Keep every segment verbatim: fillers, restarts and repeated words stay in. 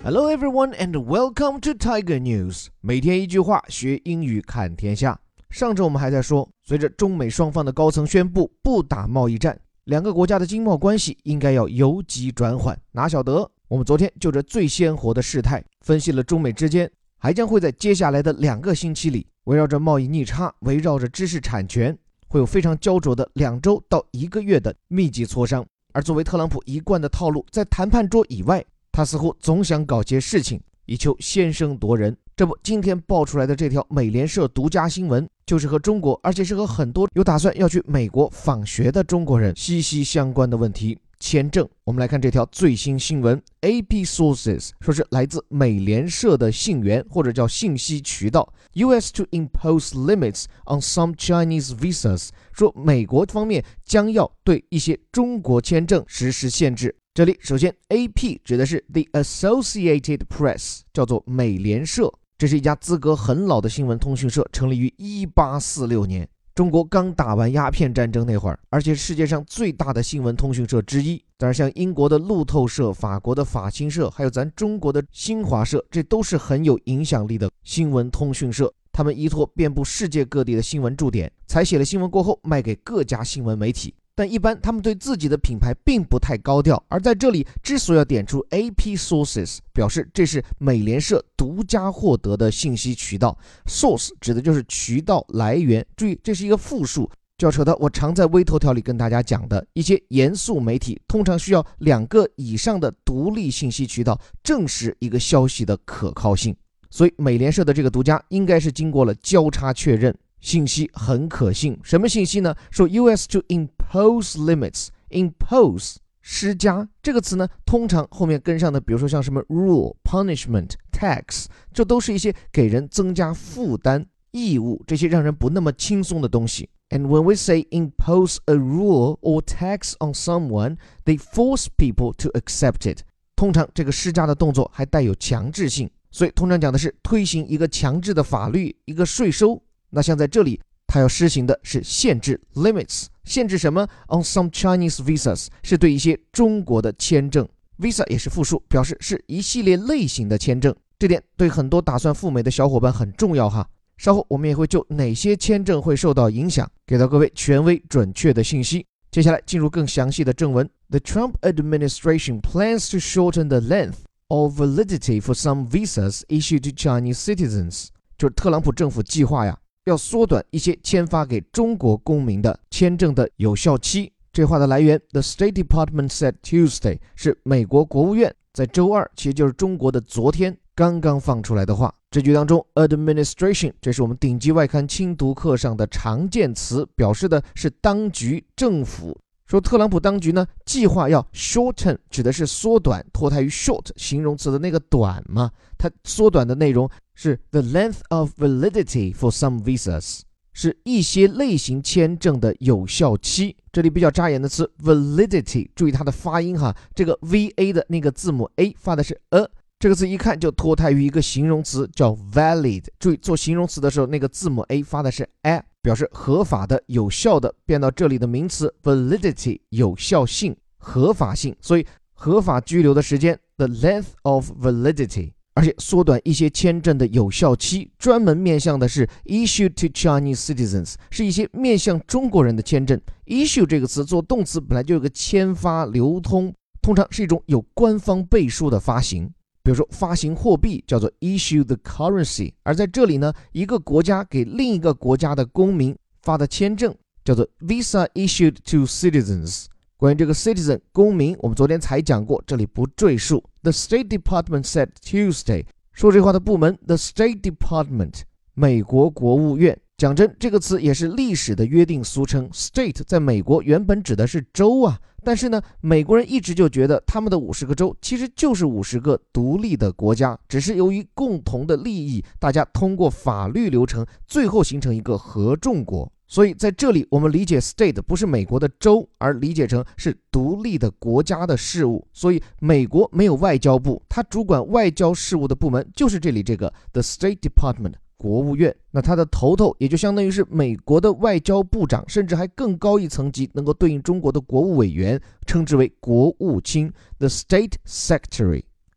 Hello everyone and welcome to Tiger News。 每天一句话，学英语看天下。上周我们还在说，随着中美双方的高层宣布不打贸易战，两个国家的经贸关系应该要由急转缓。哪晓得我们昨天就这最鲜活的事态，分析了中美之间还将会在接下来的两个星期里，围绕着贸易逆差，围绕着知识产权，会有非常焦灼的两周到一个月的密集磋商。而作为特朗普一贯的套路，在谈判桌以外，他似乎总想搞些事情，以求先声夺人。这不，今天爆出来的这条美联社独家新闻，就是和中国，而且是和很多有打算要去美国访学的中国人息息相关的问题。签证，我们来看这条最新新闻。 A P sources 说是来自美联社的信源，或者叫信息渠道。 U S to impose limits on some Chinese visas 说美国方面将要对一些中国签证实施限制。这里首先 A P 指的是 The Associated Press， 叫做美联社，这是一家资格很老的新闻通讯社，成立于一八四六年。中国刚打完鸦片战争那会儿，而且是世界上最大的新闻通讯社之一。当然像英国的路透社、法国的法新社，还有咱中国的新华社，这都是很有影响力的新闻通讯社。他们依托遍布世界各地的新闻驻点，采写了新闻过后卖给各家新闻媒体。但一般他们对自己的品牌并不太高调，而在这里之所以要点出 A P sources， 表示这是美联社独家获得的信息渠道。 Source 指的就是渠道来源，注意这是一个复数，就要扯到我常在微头条里跟大家讲的，一些严肃媒体通常需要两个以上的独立信息渠道证实一个消息的可靠性。所以美联社的这个独家应该是经过了交叉确认，信息很可信。什么信息呢？说 U S to impose limits， impose 施加这个词呢，通常后面跟上的，比如说像什么 rule、 punishment、 tax， 这都是一些给人增加负担、义务，这些让人不那么轻松的东西。 And when we say impose a rule or tax on someone, they force people to accept it。 通常这个施加的动作还带有强制性，所以通常讲的是推行一个强制的法律，一个税收。那像在这里他要施行的是限制 limits， 限制什么？ On some Chinese visas 是对一些中国的签证， visa 也是复数，表示是一系列类型的签证。这点对很多打算赴美的小伙伴很重要哈。稍后我们也会就哪些签证会受到影响给到各位权威准确的信息。接下来进入更详细的正文。 The Trump administration plans to shorten the length of validity for some visas issued to Chinese citizens。 就是特朗普政府计划呀，要缩短一些签发给中国公民的签证的有效期。这话的来源 The State Department said Tuesday， 是美国国务院在周二，其实就是中国的昨天刚刚放出来的话。这句当中 administration 这是我们顶级外刊精读课上的常见词，表示的是当局、政府。说特朗普当局呢，计划要 shorten 指的是缩短，脱胎于 short 形容词的那个短嘛，它缩短的内容是 the length of validity for some visas， 是一些类型签证的有效期。这里比较扎眼的词 validity， 注意它的发音哈，这个 V A 的那个字母 A 发的是 a， 这个字一看就脱胎于一个形容词叫 valid， 注意做形容词的时候那个字母 A 发的是 a， 表示合法的、有效的，变到这里的名词 validity 有效性、合法性，所以合法居留的时间 the length of validity， 而且缩短一些签证的有效期，专门面向的是 issued to Chinese citizens， 是一些面向中国人的签证。 issue 这个词做动词本来就有个签发、流通，通常是一种有官方背书的发行，比如说发行货币叫做 issue the currency， 而在这里呢，一个国家给另一个国家的公民发的签证叫做 visa issued to citizens。 关于这个 citizen 公民，我们昨天才讲过，这里不赘述。 The State Department said Tuesday， 说这话的部门 The State Department， 美国国务院。讲真，这个词也是历史的约定俗成， state 在美国原本指的是州啊，但是呢，美国人一直就觉得他们的五十个州其实就是五十个独立的国家，只是由于共同的利益，大家通过法律流程最后形成一个合众国。所以在这里我们理解 state 不是美国的州，而理解成是独立的国家的事务。所以美国没有外交部，它主管外交事务的部门就是这里这个 The State Department，国务院。那它的头头也就相当于是美国的外交部长，甚至还更高一层级，能够对应中国的国务委员，称之为国务卿 The State Secretary。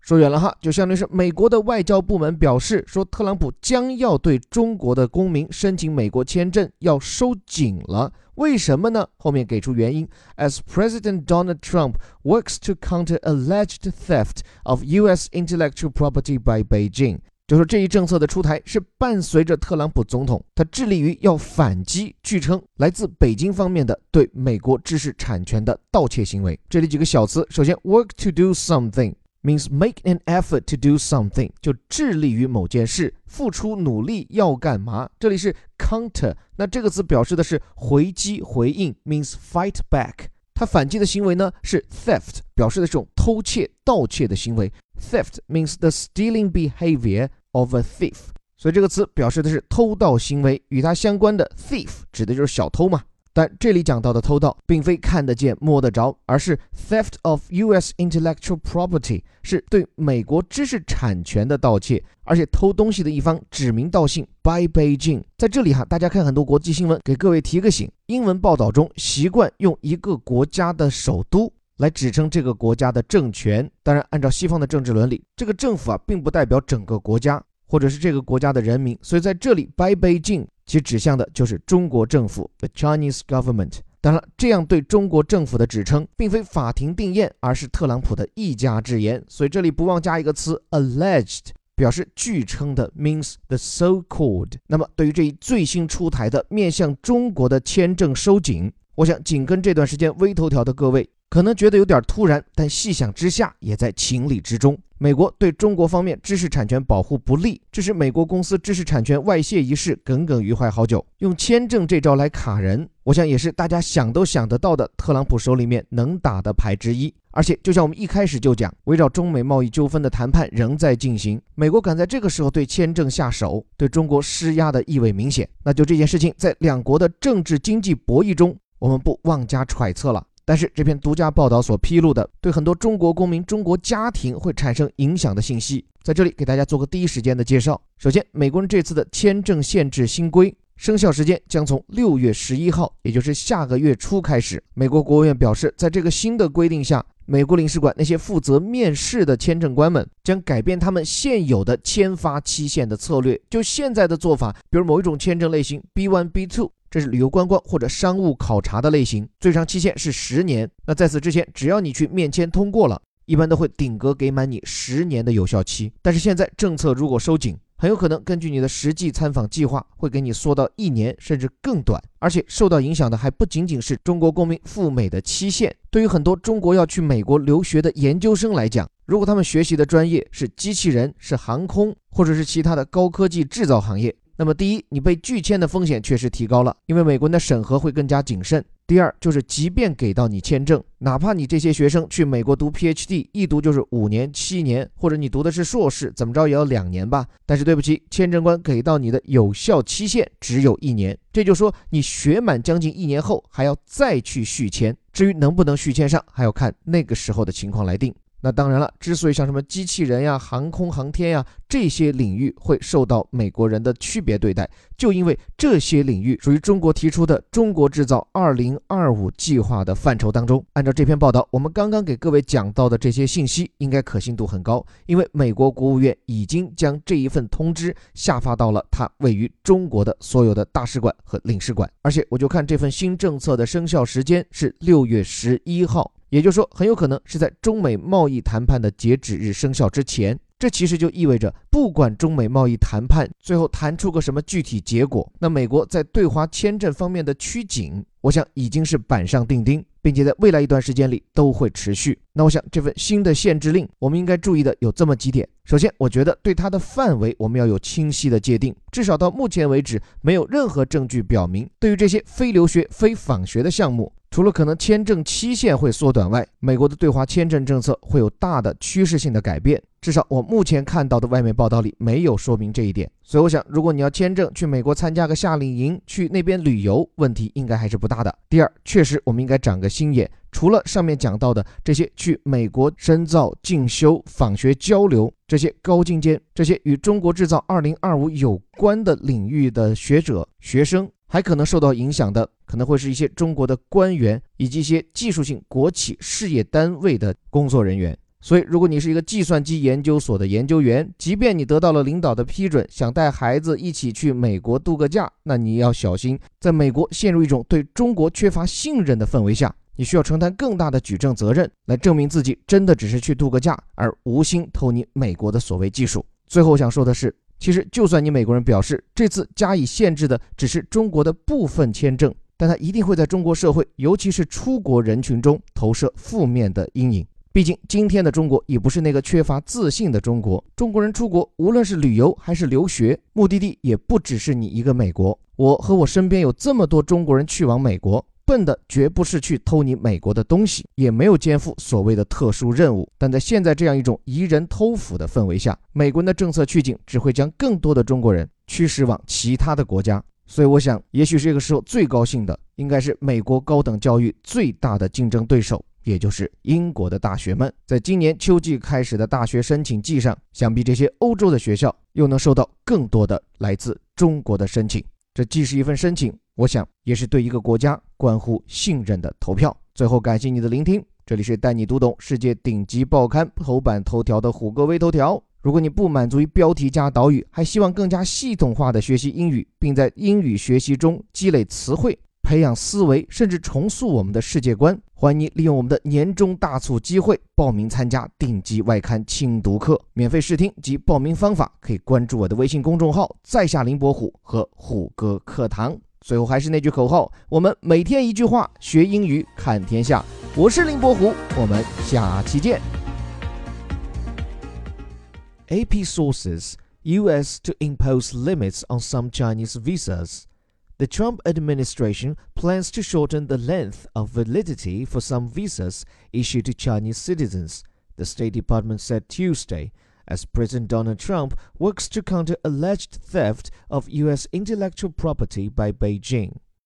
说远了哈，就相当于是美国的外交部门表示说，特朗普将要对中国的公民申请美国签证要收紧了。为什么呢？后面给出原因 ，As President Donald Trump works to counter alleged theft of U S intellectual property by Beijing。就说这一政策的出台是伴随着特朗普总统，他致力于要反击据称来自北京方面的对美国知识产权的盗窃行为。这里几个小词，首先 work to do something means make an effort to do something， 就致力于某件事，付出努力要干嘛。这里是 counter， 那这个词表示的是回击回应 means fight back。他反击的行为呢是 theft， 表示的这种偷窃盗窃的行为。Theft means the stealing behavior of a thief， 所以这个词表示的是偷盗行为，与它相关的 thief 指的就是小偷嘛。但这里讲到的偷盗并非看得见摸得着，而是 theft of U S intellectual property， 是对美国知识产权的盗窃，而且偷东西的一方指名道姓 by Beijing。 在这里哈，大家看很多国际新闻，给各位提个醒，英文报道中习惯用一个国家的首都来指称这个国家的政权。当然按照西方的政治伦理，这个政府啊并不代表整个国家或者是这个国家的人民，所以在这里 by Beijing 其指向的就是中国政府 the Chinese government。 当然这样对中国政府的指称并非法庭定谳，而是特朗普的一家之言，所以这里不忘加一个词 alleged， 表示据称的 means the so-called。 那么对于这一最新出台的面向中国的签证收紧，我想紧跟这段时间微头条的各位可能觉得有点突然，但细想之下也在情理之中。美国对中国方面知识产权保护不力，这是美国公司知识产权外泄一事耿耿于怀好久，用签证这招来卡人，我想也是大家想都想得到的特朗普手里面能打的牌之一。而且就像我们一开始就讲，围绕中美贸易纠纷的谈判仍在进行，美国赶在这个时候对签证下手，对中国施压的意味明显。那就这件事情在两国的政治经济博弈中，我们不妄加揣测了。但是这篇独家报道所披露的对很多中国公民、中国家庭会产生影响的信息，在这里给大家做个第一时间的介绍。首先，美国人这次的签证限制新规生效时间将从六月十一号，也就是下个月初开始。美国国务院表示，在这个新的规定下，美国领事馆那些负责面试的签证官们将改变他们现有的签发期限的策略。就现在的做法，比如某一种签证类型 B 一 B 二，这是旅游观光或者商务考察的类型，最长期限是十年。那在此之前，只要你去面签通过了，一般都会顶格给满你十年的有效期。但是现在政策如果收紧，很有可能根据你的实际参访计划，会给你缩到一年甚至更短。而且受到影响的还不仅仅是中国公民赴美的期限，对于很多中国要去美国留学的研究生来讲，如果他们学习的专业是机器人、是航空或者是其他的高科技制造行业，那么第一，你被拒签的风险确实提高了，因为美国人的审核会更加谨慎。第二，就是即便给到你签证，哪怕你这些学生去美国读 P H D， 一读就是五年、七年，或者你读的是硕士，怎么着也要两年吧。但是对不起，签证官给到你的有效期限只有一年，这就说你学满将近一年后还要再去续签。至于能不能续签上，还要看那个时候的情况来定。那当然了，之所以像什么机器人呀、航空航天呀这些领域会受到美国人的区别对待，就因为这些领域属于中国提出的中国制造二零二五计划的范畴当中。按照这篇报道，我们刚刚给各位讲到的这些信息应该可信度很高，因为美国国务院已经将这一份通知下发到了它位于中国的所有的大使馆和领事馆。而且我就看这份新政策的生效时间是六月十一号，也就是说很有可能是在中美贸易谈判的截止日生效之前。这其实就意味着，不管中美贸易谈判最后谈出个什么具体结果，那美国在对华签证方面的趋紧，我想已经是板上钉钉，并且在未来一段时间里都会持续。那我想这份新的限制令，我们应该注意的有这么几点。首先，我觉得对它的范围我们要有清晰的界定，至少到目前为止，没有任何证据表明，对于这些非留学、非访学的项目，除了可能签证期限会缩短外，美国的对华签证政策会有大的趋势性的改变。至少我目前看到的外媒报道里没有说明这一点。所以我想，如果你要签证去美国参加个夏令营，去那边旅游，问题应该还是不大的。第二，确实我们应该长个心眼，除了上面讲到的这些去美国深造、进修、访学交流，这些高精尖、这些与中国制造二零二五有关的领域的学者、学生，还可能受到影响的可能会是一些中国的官员以及一些技术性国企事业单位的工作人员。 所以如果你是一个计算机研究所的研究员，即便你得到了领导的批准，想带孩子一起去美国度个假，那你要小心，在美国陷入一种对中国缺乏信任的氛围下，你需要承担更大的举证责任，来证明自己真的只是去度个假，而无心偷你美国的所谓技术。最后想说的是，其实就算你美国人表示这次加以限制的只是中国的部分签证，但它一定会在中国社会，尤其是出国人群中投射负面的阴影。毕竟今天的中国也不是那个缺乏自信的中国，中国人出国无论是旅游还是留学，目的地也不只是你一个美国。我和我身边有这么多中国人去往美国，奔的绝不是去偷你美国的东西，也没有肩负所谓的特殊任务。但在现在这样一种夷人偷斧的氛围下，美国人的政策去景只会将更多的中国人驱使往其他的国家。所以我想，也许这个时候最高兴的应该是美国高等教育最大的竞争对手，也就是英国的大学们。在今年秋季开始的大学申请季上，想必这些欧洲的学校又能收到更多的来自中国的申请。这既是一份申请，我想也是对一个国家关乎信任的投票。最后感谢你的聆听，这里是带你读懂世界顶级报刊头版头条的虎哥微头条。如果你不满足于标题加导语，还希望更加系统化的学习英语，并在英语学习中积累词汇，培养思维，甚至重塑我们的世界观，欢迎你利用我们的年终大促机会报名参加顶级外刊精读课。免费试听及报名方法可以关注我的微信公众号在下林伯虎和虎哥课堂。最后还是那句口号，我们每天一句话，学英语看天下。我是林伯虎，我们下期见。A P sources: U S to impose limits on some Chinese visas.The Trump administration plans to shorten the length of validity for some visas issued to Chinese citizens, the State Department said Tuesday, as President Donald Trump works to counter alleged theft of U S intellectual property by Beijing.